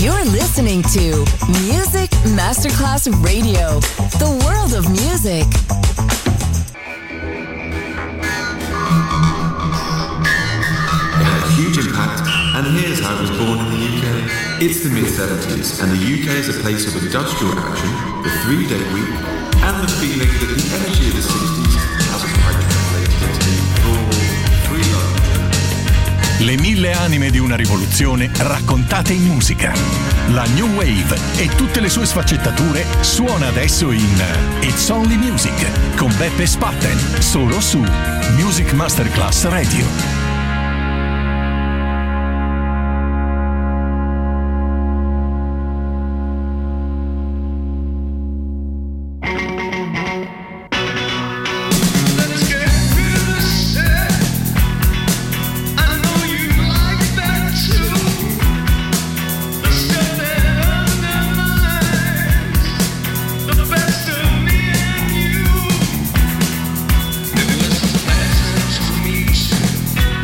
You're listening to Music Masterclass Radio, the world of music. It had a huge impact, and here's how it was born in the UK. It's the mid-70s, and the UK is a place of industrial action, the 3-day week, and the feeling that the energy of the 60s hasn't quite translated into raw, free love. Le 1000 anime di una rivoluzione raccontate in musica. La New Wave e tutte le sue sfaccettature suona adesso in It's Only Music con Beppe Spatten, solo su Music Masterclass Radio. Me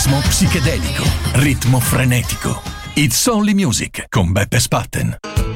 Ritmo psichedelico, ritmo frenetico. It's Only Music con Beppe Spatten.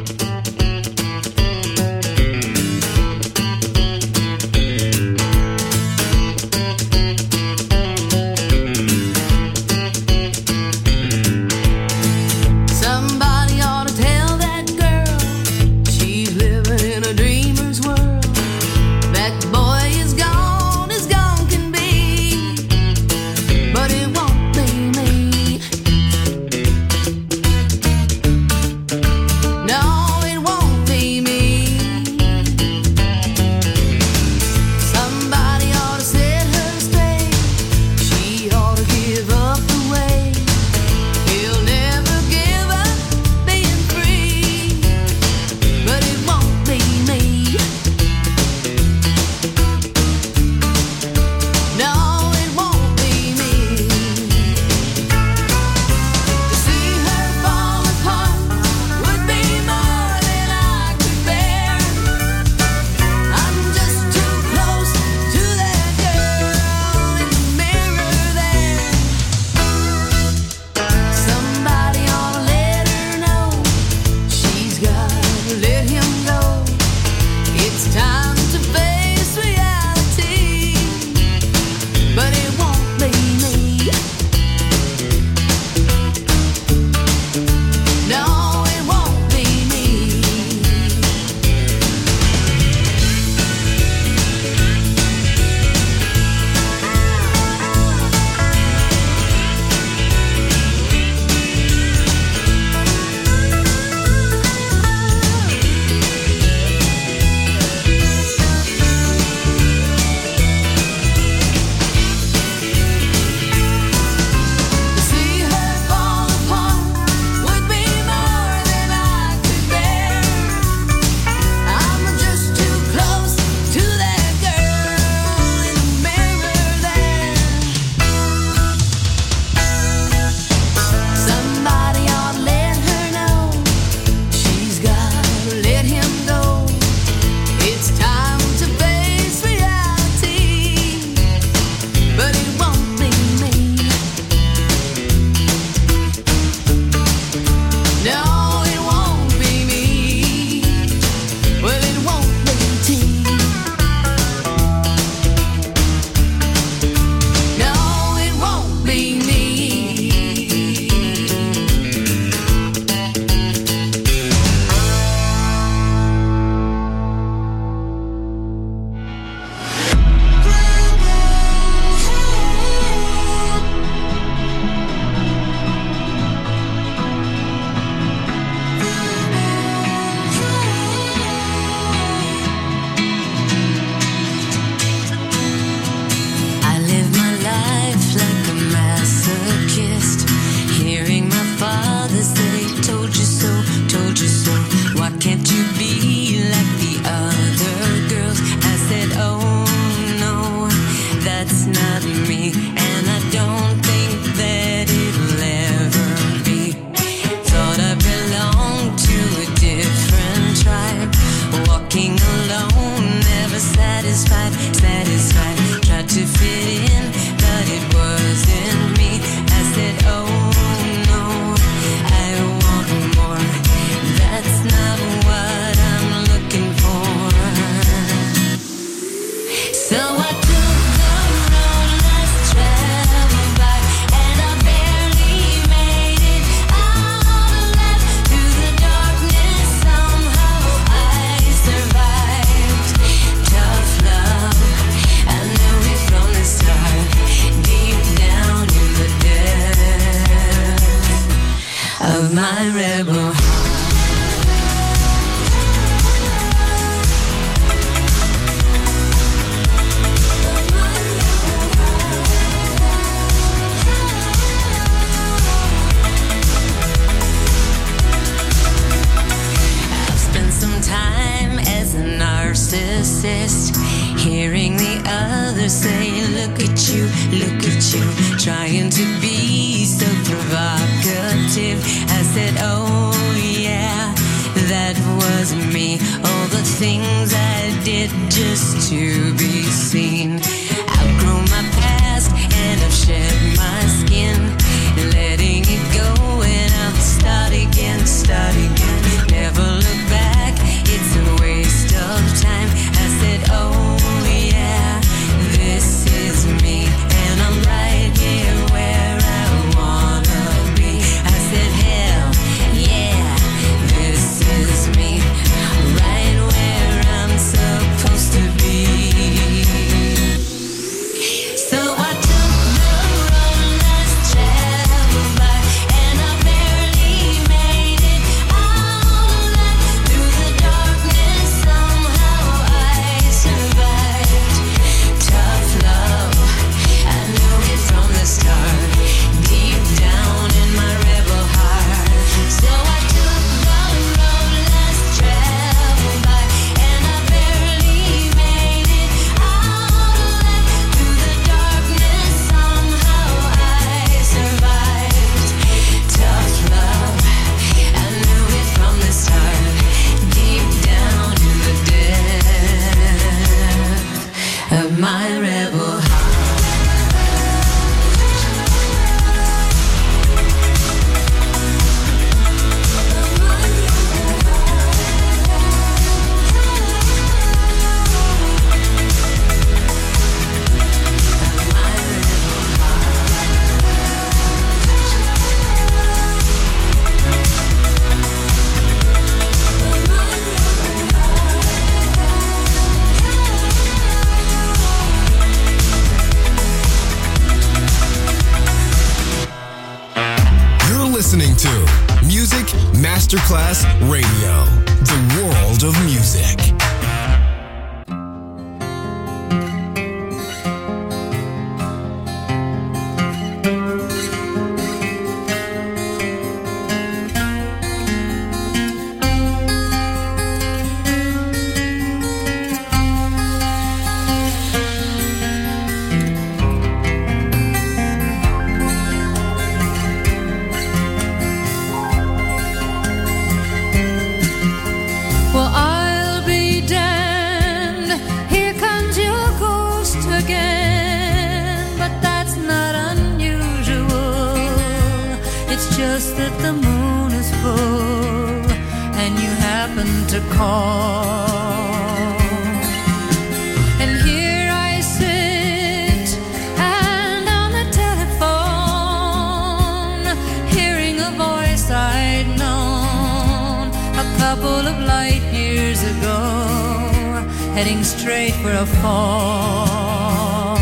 narcissist, hearing the others say, look at you, trying to be so provocative. I said, oh yeah, that was me, all the things I did just to be seen. Outgrown my past and I've shed my skin. Masterclass Radio, the world of music. Heading straight for a fall.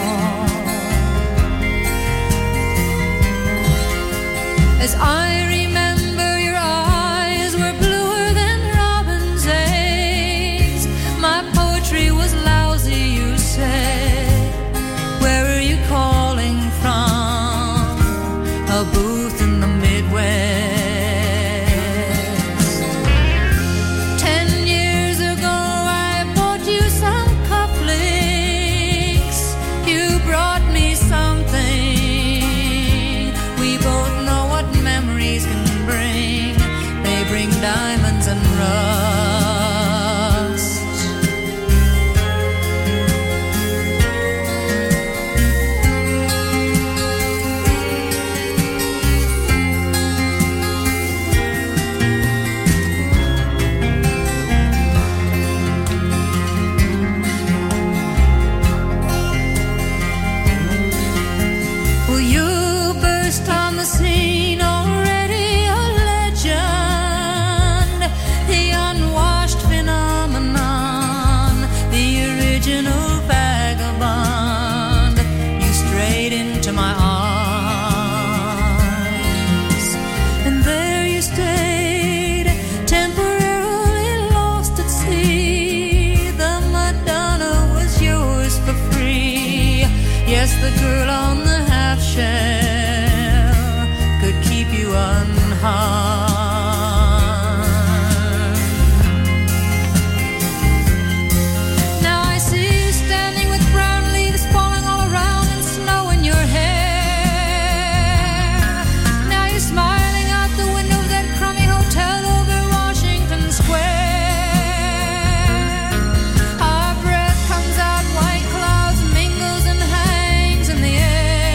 As I remember, your eyes were bluer than robin's eggs. My poetry was lousy, you said. Where are you calling from? A booth in the Midwest. Diamonds and rust. Well, you burst on the scene already a legend. The unwashed phenomenon, the original vagabond. You strayed into my arms, and there you stayed, temporarily lost at sea. The Madonna was yours for free. Yes, the girl on the half shell could keep you unharmed. Our breath comes out, white clouds mingles and hangs in the air.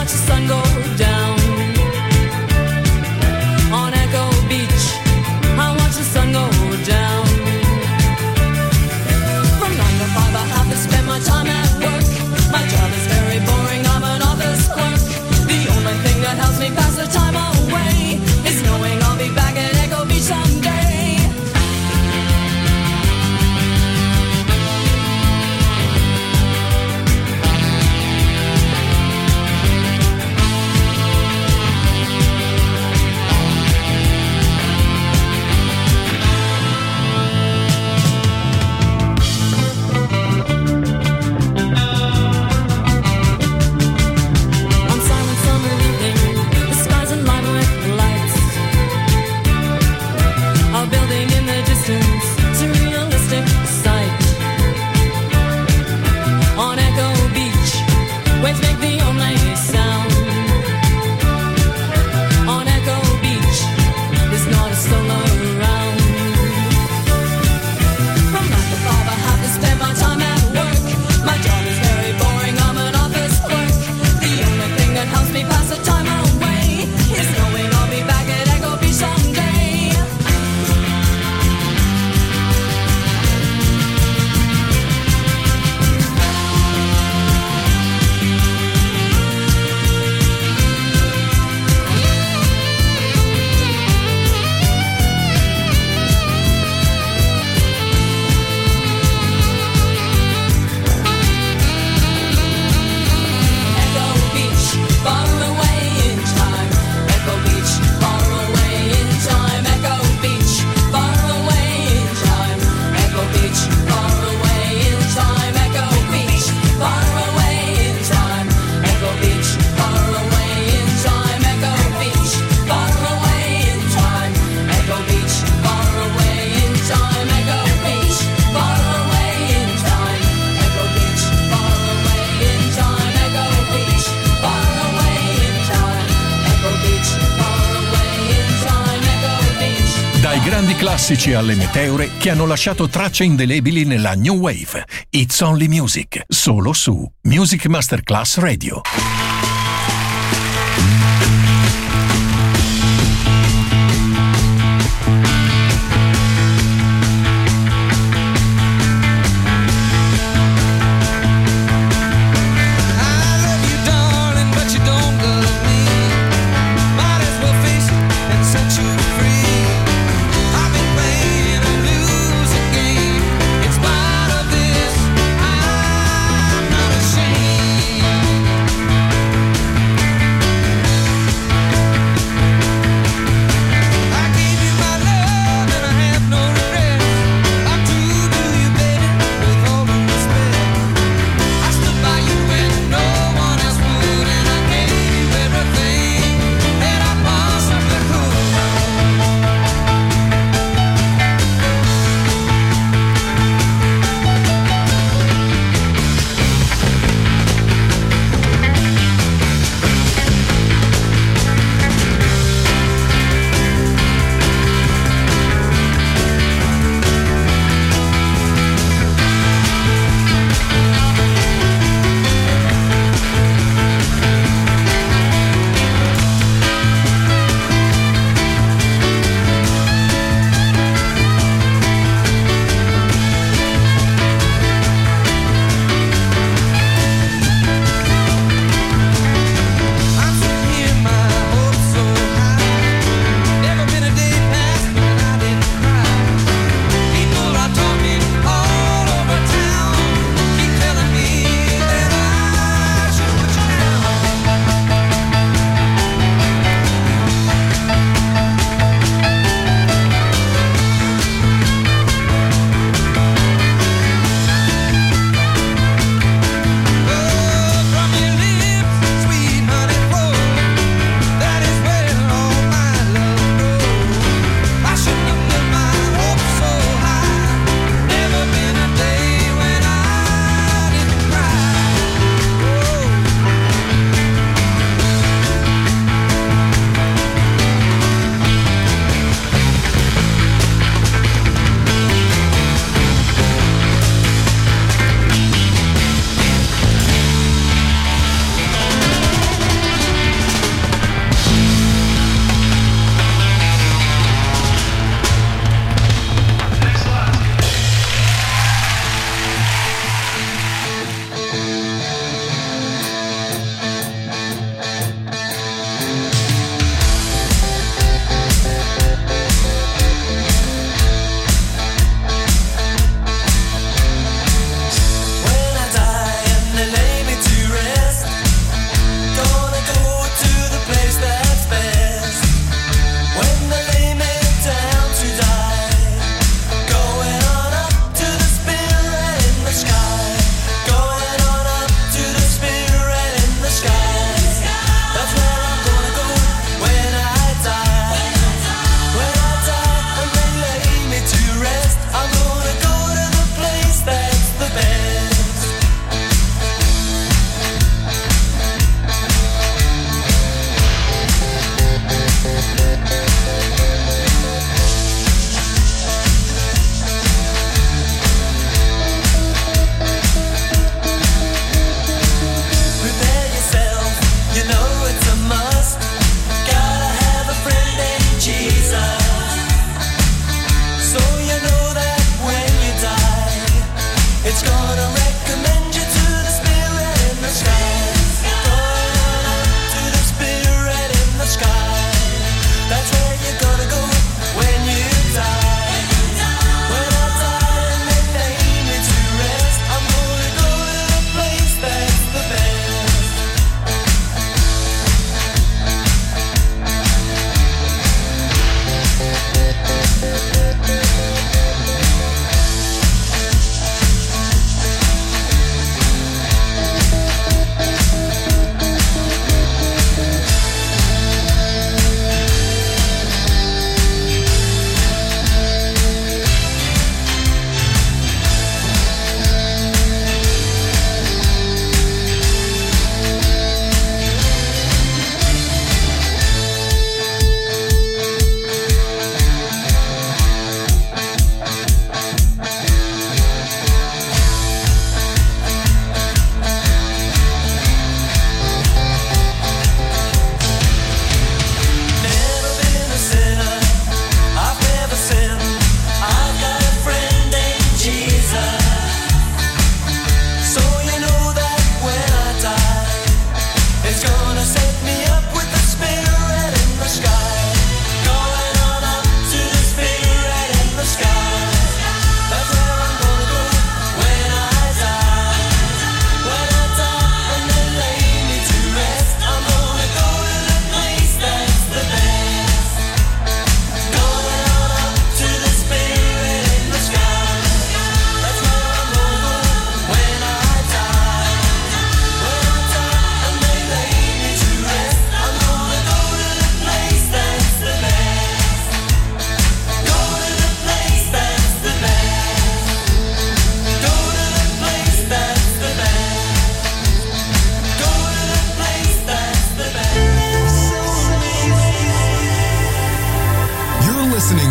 watch the sun go down on Echo Beach. I watch the sun go down. From 9 to 5 I have to spend my time at work. My job is very boring, I'm an office clerk. The only thing that helps me pass the time away is knowing I'll be back at Echo Beach someday. Classici alle meteore che hanno lasciato tracce indelebili nella New Wave. It's Only Music, solo su Music Masterclass Radio. I'm not ashamed.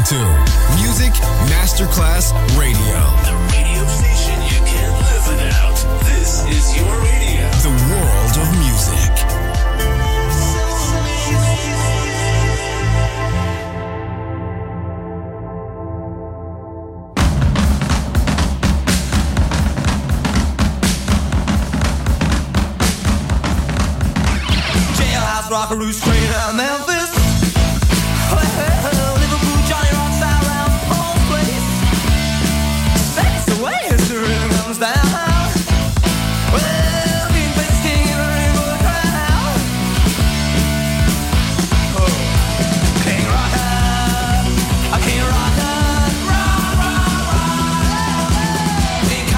to Music Masterclass Radio. The radio station you can't live without. This is your radio. The world of music. Jailhouse rockaroo straight out of Memphis. Well, Liverpool, Johnny Rock's out around Paul's place. That's the way history comes down. Well, King Bass King in the rainbow crowd. Oh, King Rocker, King Rocker, rock, rock, rock. King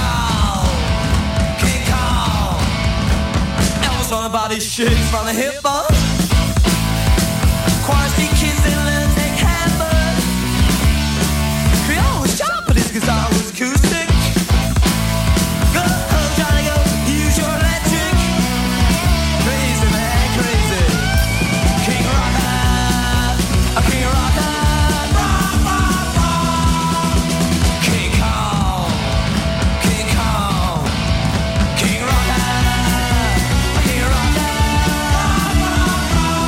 Kong. Elvis on the body shakes from the hip up. Quantity kids and let's take hammer. Creole was sharp, but his guitar was acoustic. Go home, Johnny, go, use your electric. Crazy man, crazy. King Rocker, King Rocker, rock, rock, rock. King Kong, King Kong. King Rocker, King Rocker, rock, rock, rock.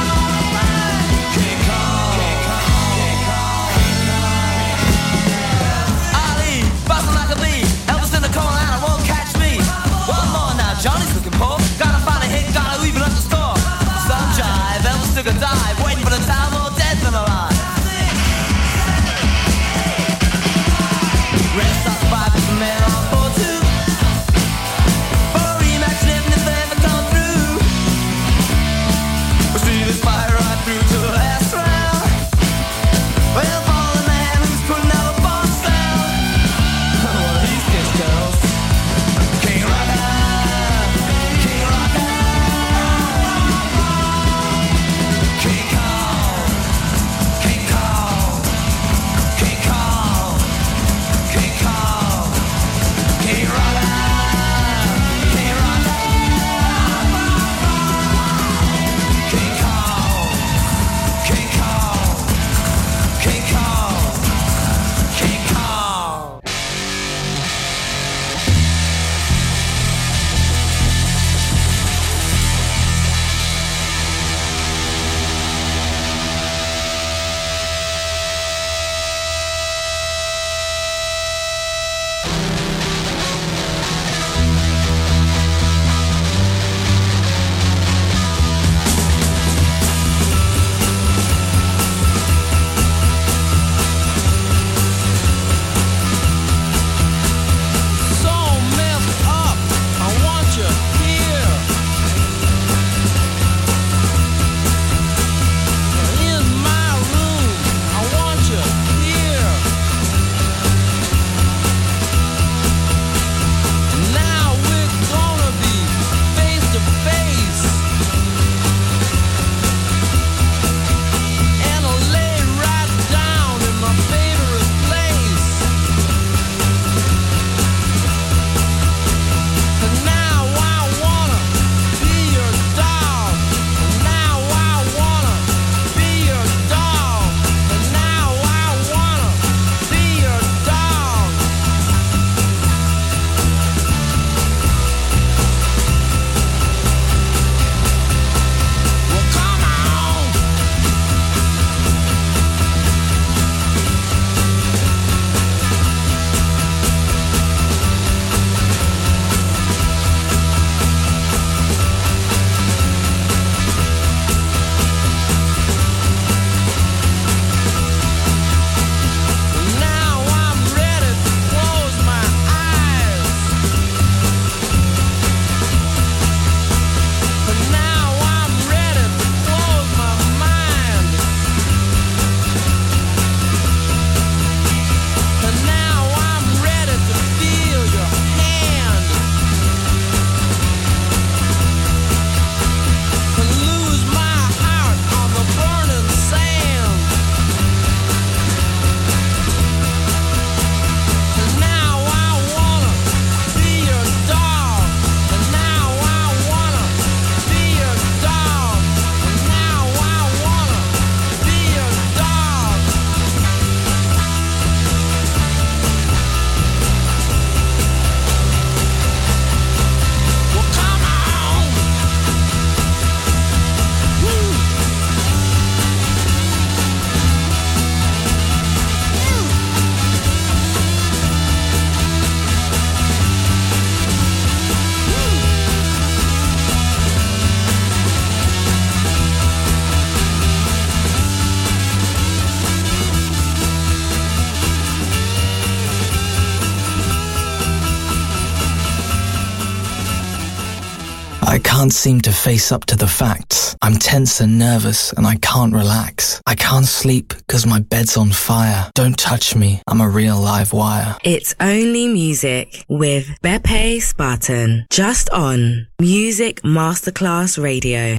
can't seem to face up to the facts. I'm tense and nervous and I can't relax. I can't sleep because my bed's on fire. Don't touch me, I'm a real live wire. It's Only Music with Beppe Spartan, just on Music Masterclass Radio.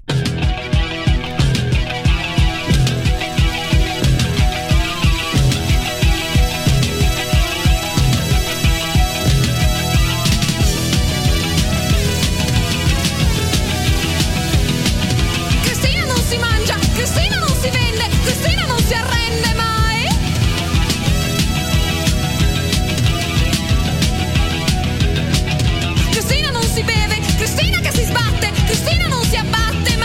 Cristina non si beve, Cristina che si sbatte, Cristina non si abbatte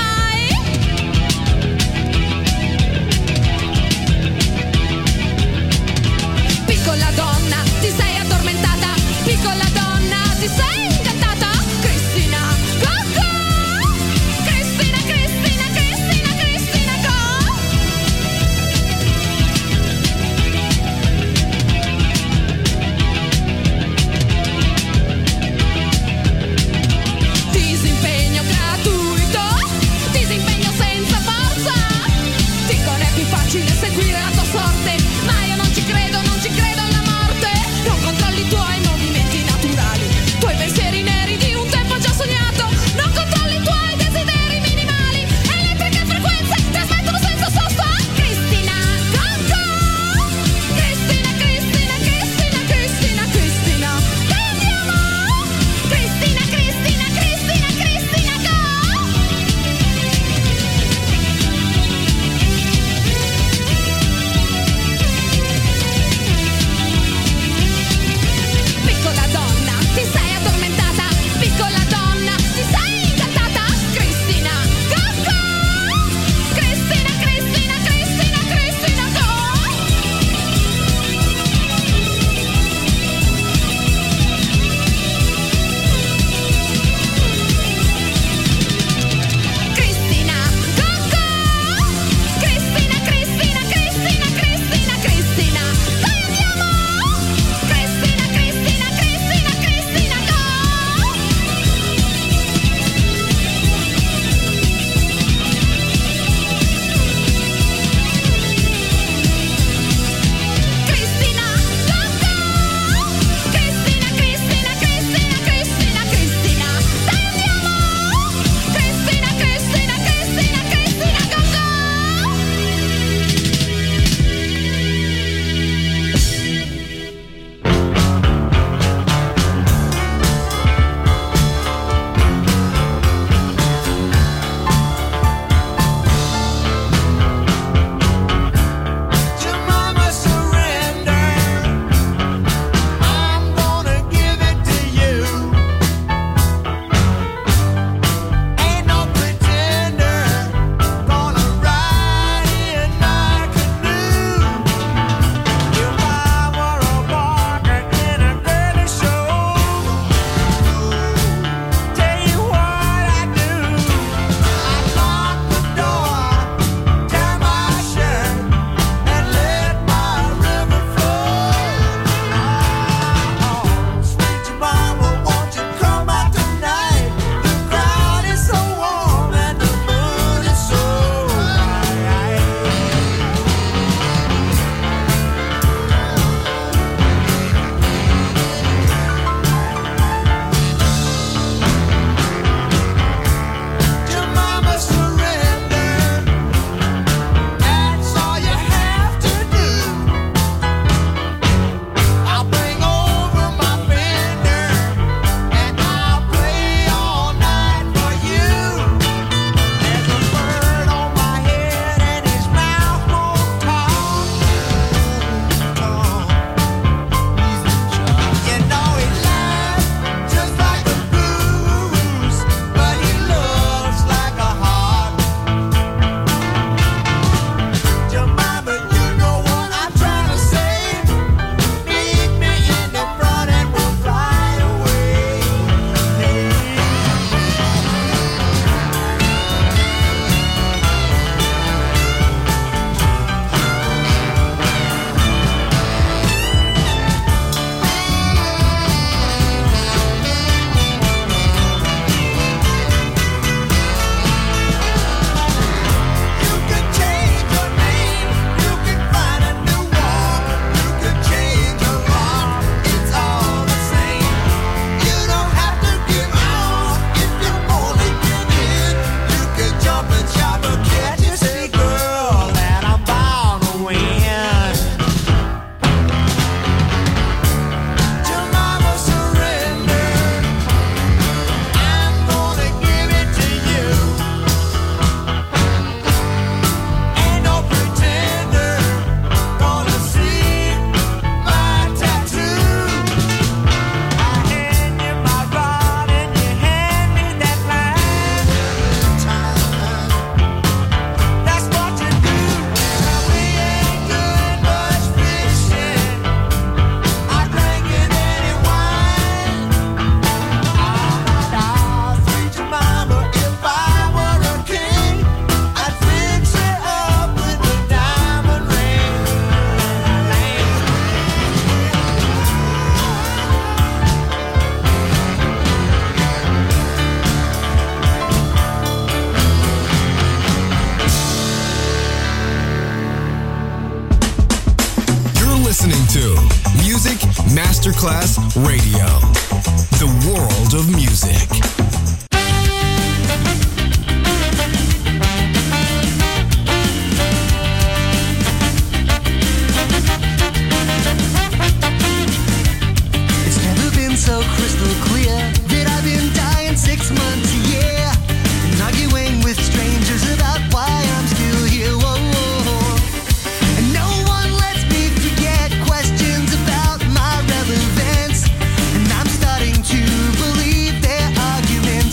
Masterclass Radio. The world of music. It's never been so crystal clear that I've been dying 6 months a year and arguing with strangers about why I'm still here. Whoa, whoa. And no one lets me forget questions about my relevance, and I'm starting to believe their arguments.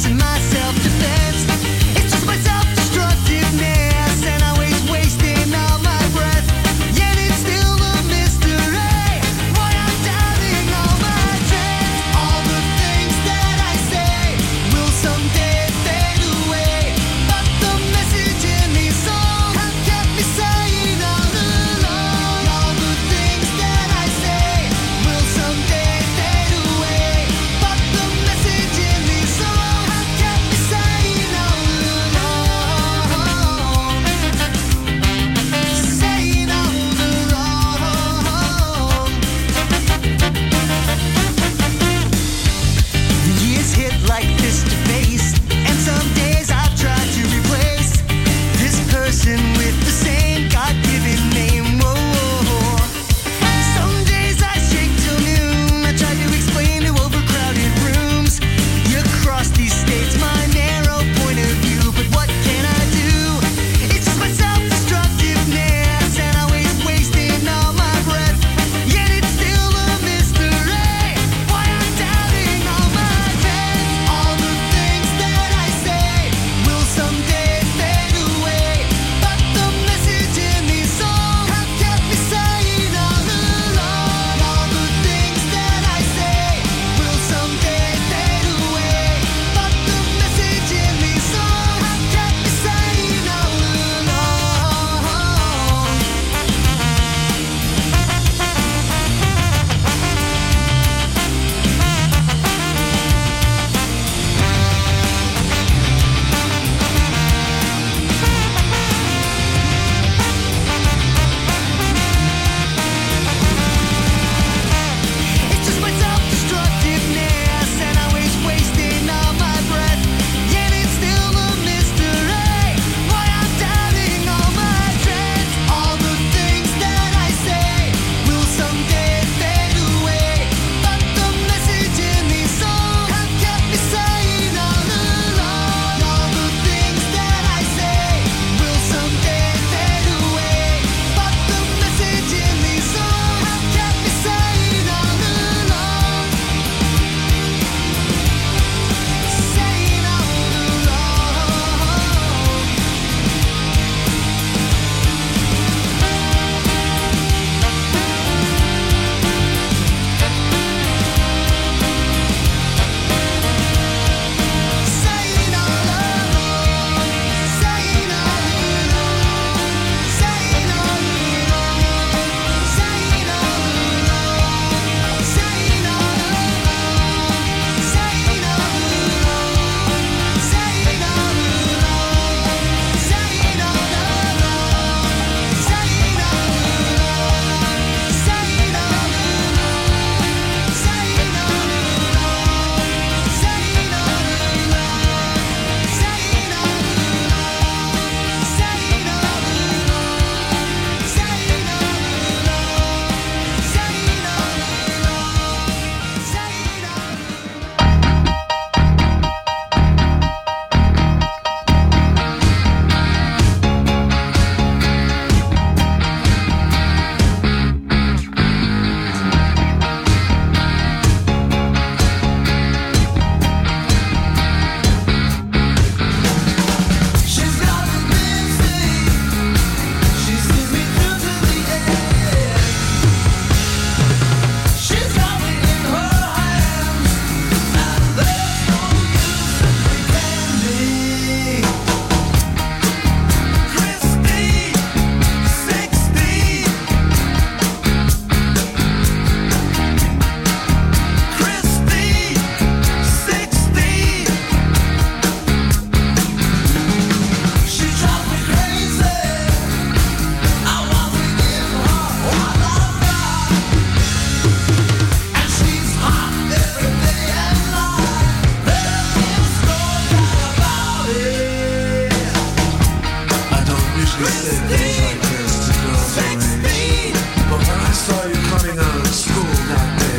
usually say things like this to girls our age. But when I saw you coming out of school that day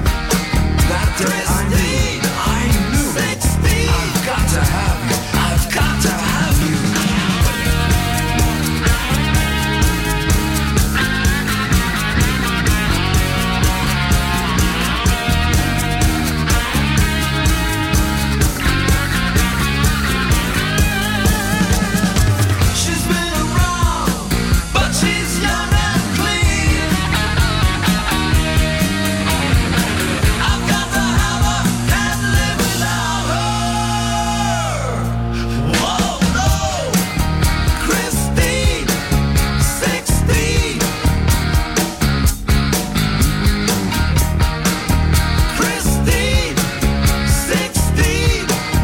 I knew I've got to have you. I've got to have you. She's been around, but she's young and clean. I've got to have her, can't live without her. Whoa, no, Christine, 16. Christine, 16.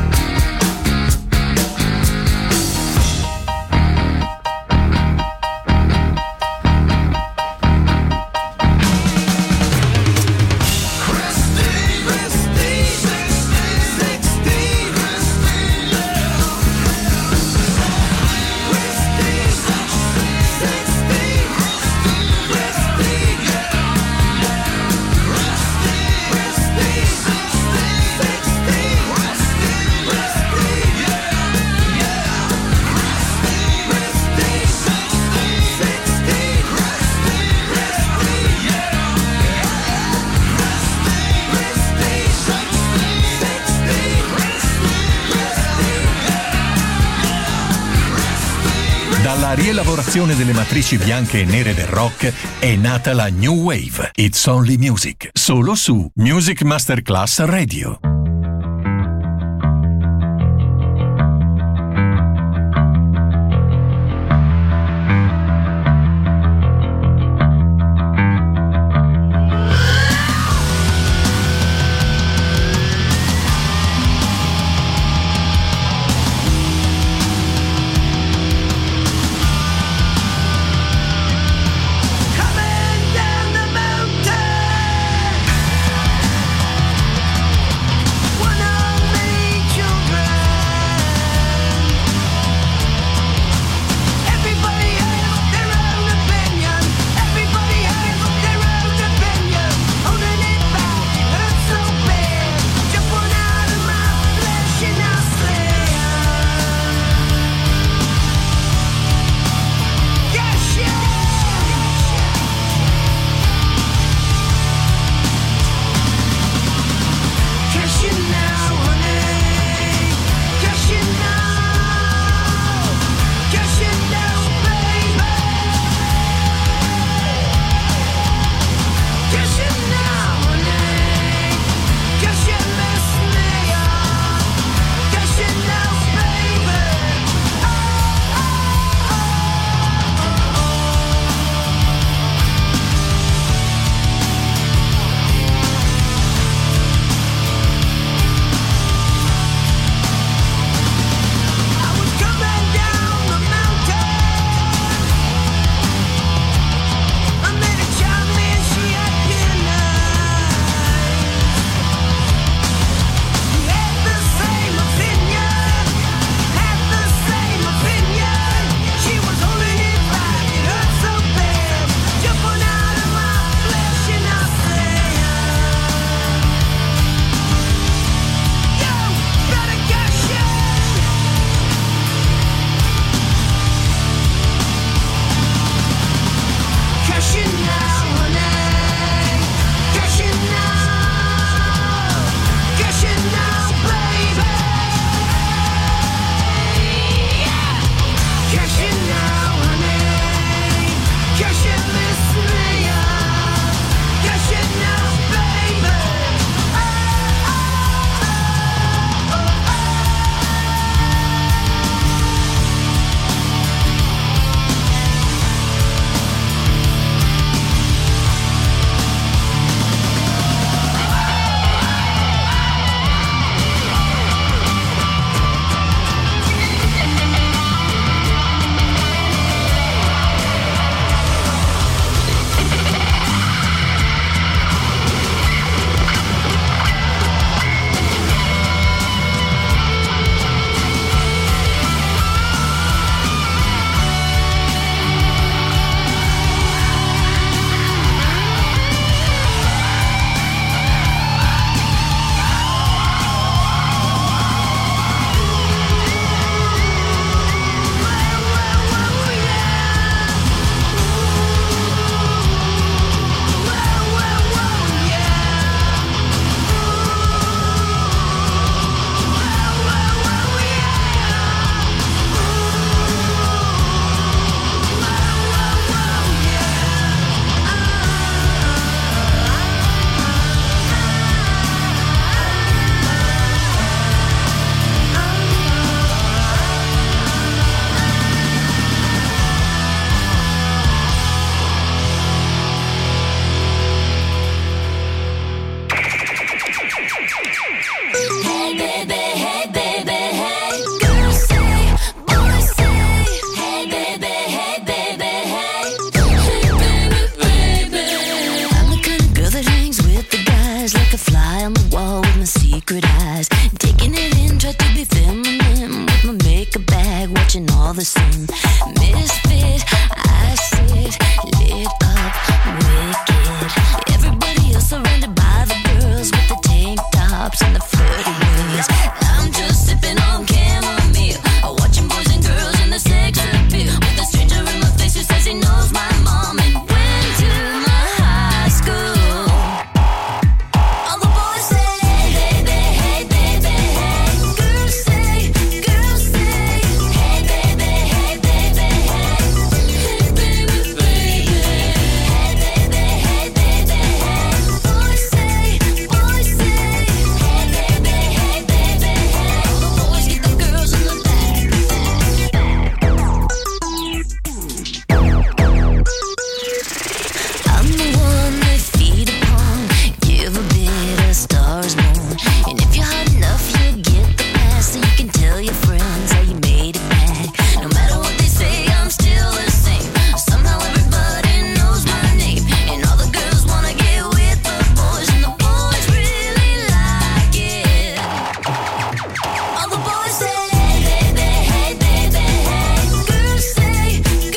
Dalla rielaborazione delle matrici bianche e nere del rock è nata la New Wave. It's Only Music, solo su Music Masterclass Radio. Coming down the mountain. misfit. I sit lit up, wicked. Everybody else surrounded by the girls with the tank tops and the flirty ways. I'm just sipping on chamomile, watching boys and girls in the sex appeal. With a stranger in my face who says he knows my mom and went to my high school. All the boys say, hey baby, hey baby, hey. Girls say, hey baby, hey baby, hey. Hey baby, baby. Hey baby, hey baby, hey. Boys say, hey baby, hey baby, hey. All the boys get the girls in the back. I'm the one they feed upon, give a bit of stars moon. And if you're hot enough, you'll get the pass, so you can tell your friends how you made it back. No matter what they say, I'm still the same. Somehow everybody knows my name, and all the girls wanna get with the boys, and the boys really like it. All the boys say, hey baby, hey baby, hey. Girls say, hey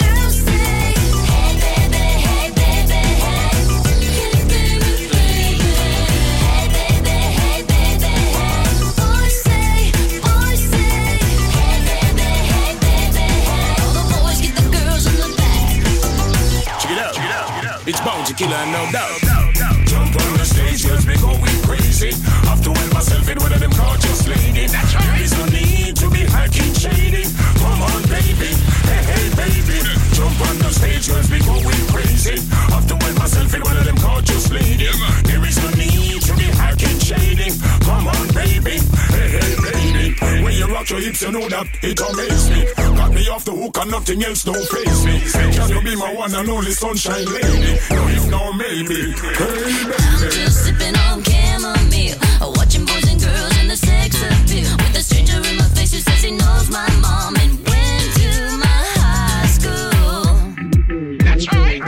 baby, hey baby, hey. Hey baby, baby. Hey baby, hey baby, hey. Boys say, hey baby, hey baby, hey. All the boys get the girls in the back. Check it out. It's Bounty Killer, no doubt. Jump on the stage, girls be going crazy. Have to help myself in one of them gorgeous ladies. There is no need to be hacking shady. Come on, baby. Hey, baby. Jump on the stage, girls be going crazy. Have to help myself in one of them gorgeous ladies. There is no need to be hacking shady. Come on, baby. Hey, baby. When you rock your hips, you know that it amazes me. Got me off the hook and nothing else don't face me. Can you be my one and only sunshine lady? No, if no, maybe. Hey, I'm baby. just sipping on chamomile, watching boys and girls in the sex appeal. With a stranger in my face who says he knows my mom and went to my high school. That's right.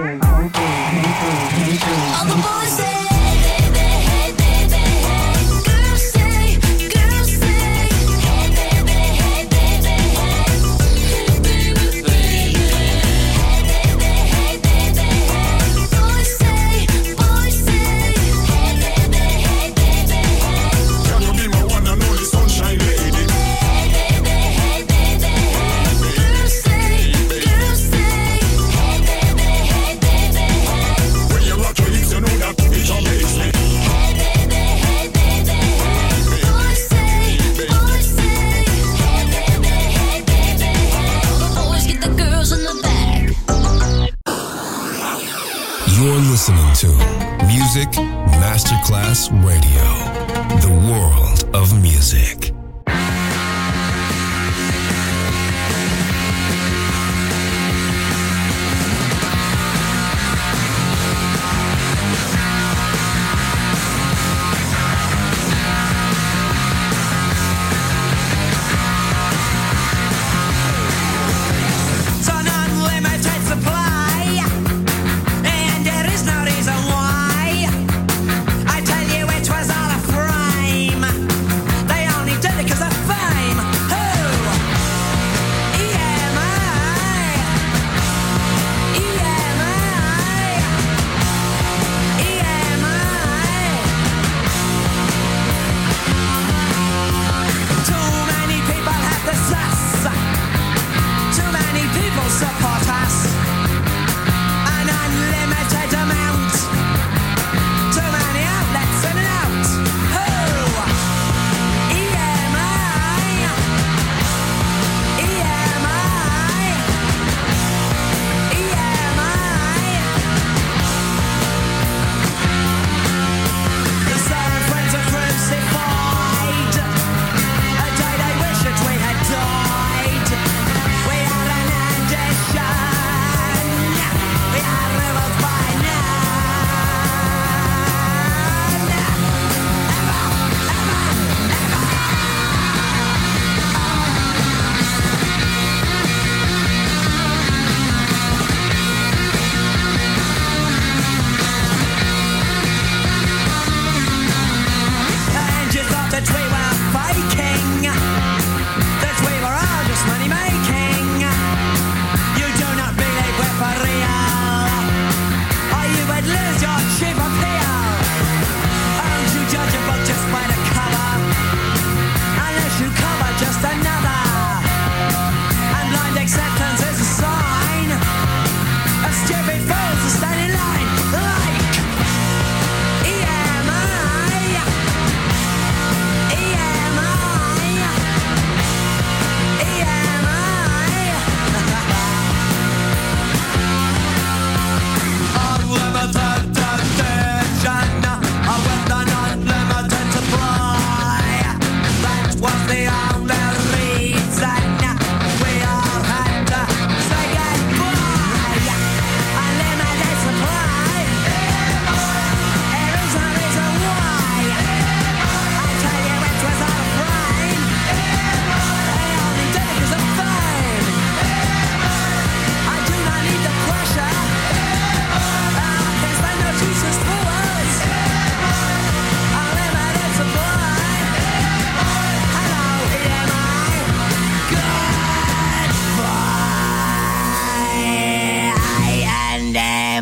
All the boys say, hey baby, hey baby, hey. Girls say, hey baby, hey baby, hey. Hey baby, baby. Hey baby, hey baby, hey. Boys say, hey baby, hey baby, hey. Can you be my one and only sunshine lady? Hey baby, hey baby, hey. Girls say, hey baby, hey baby, hey. When you rock your hips, you know that it amazes me. Hey baby, hey baby, hey. Boys say, hey baby, hey baby, hey. All the boys get the girls in the back. You're listening to Music Masterclass Radio, the world of music. It's an unlimited supply, and there is no reason why. I tell you, it was all a frame. They only do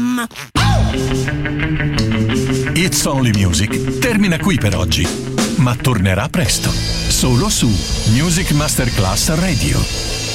Bam! It's Only Music termina qui per oggi, ma tornerà presto, solo su Music Masterclass Radio.